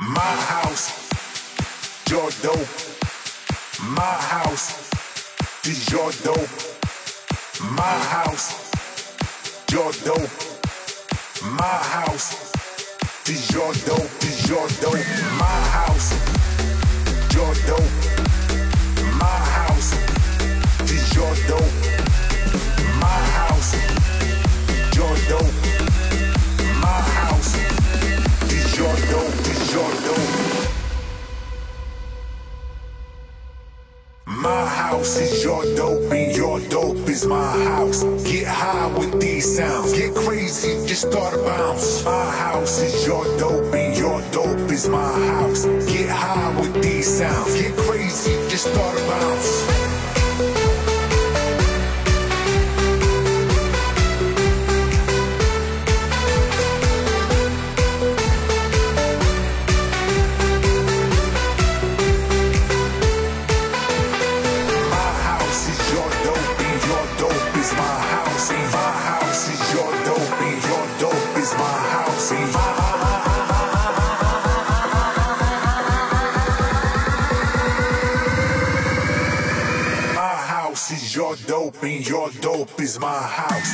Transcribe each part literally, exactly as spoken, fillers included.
My house, your dope. My house is your dope. My house, your dope. My house is your dope. Is your dope. My house, your dope. My house is your dope. My house, your dope. My house is your dope. Is your dope. My house is your dope and your dope is my house. Get high with these sounds. Get crazy, just start to bounce. My house is your dope and your dope is my house. Get high with these sounds. Get crazy, just start to bounce. Your dope and your dope is my house.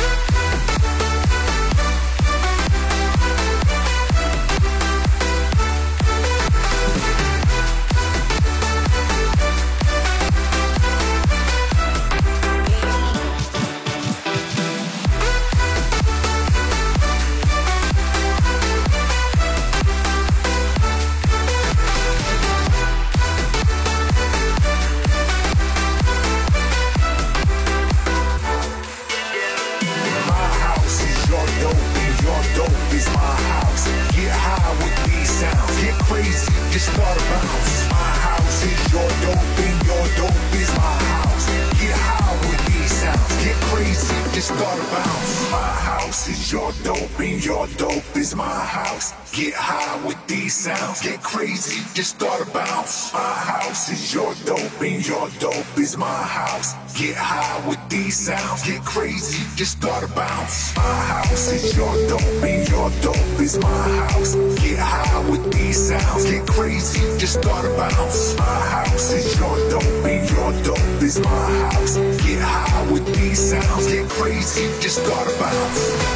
Just start to bounce. My house is your dope and your dope is my house. Get high with these sounds. Get crazy, just start to bounce. My house is your dope and your dope is my house. Get high with these sounds. Get crazy, just start to bounce. My house is your dope and your dope is my house. Get high with these sounds. Get crazy, just start to bounce. My house is your dope and your dope is my house. Get high with these sounds. Get crazy, just start to bounce. My house is your dope and your dope is my house. Get high with these sounds. Get crazy, just start to bounce.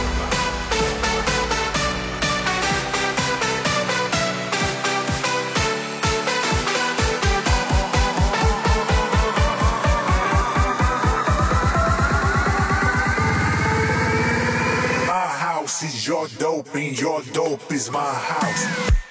Is your dope and your dope is my house.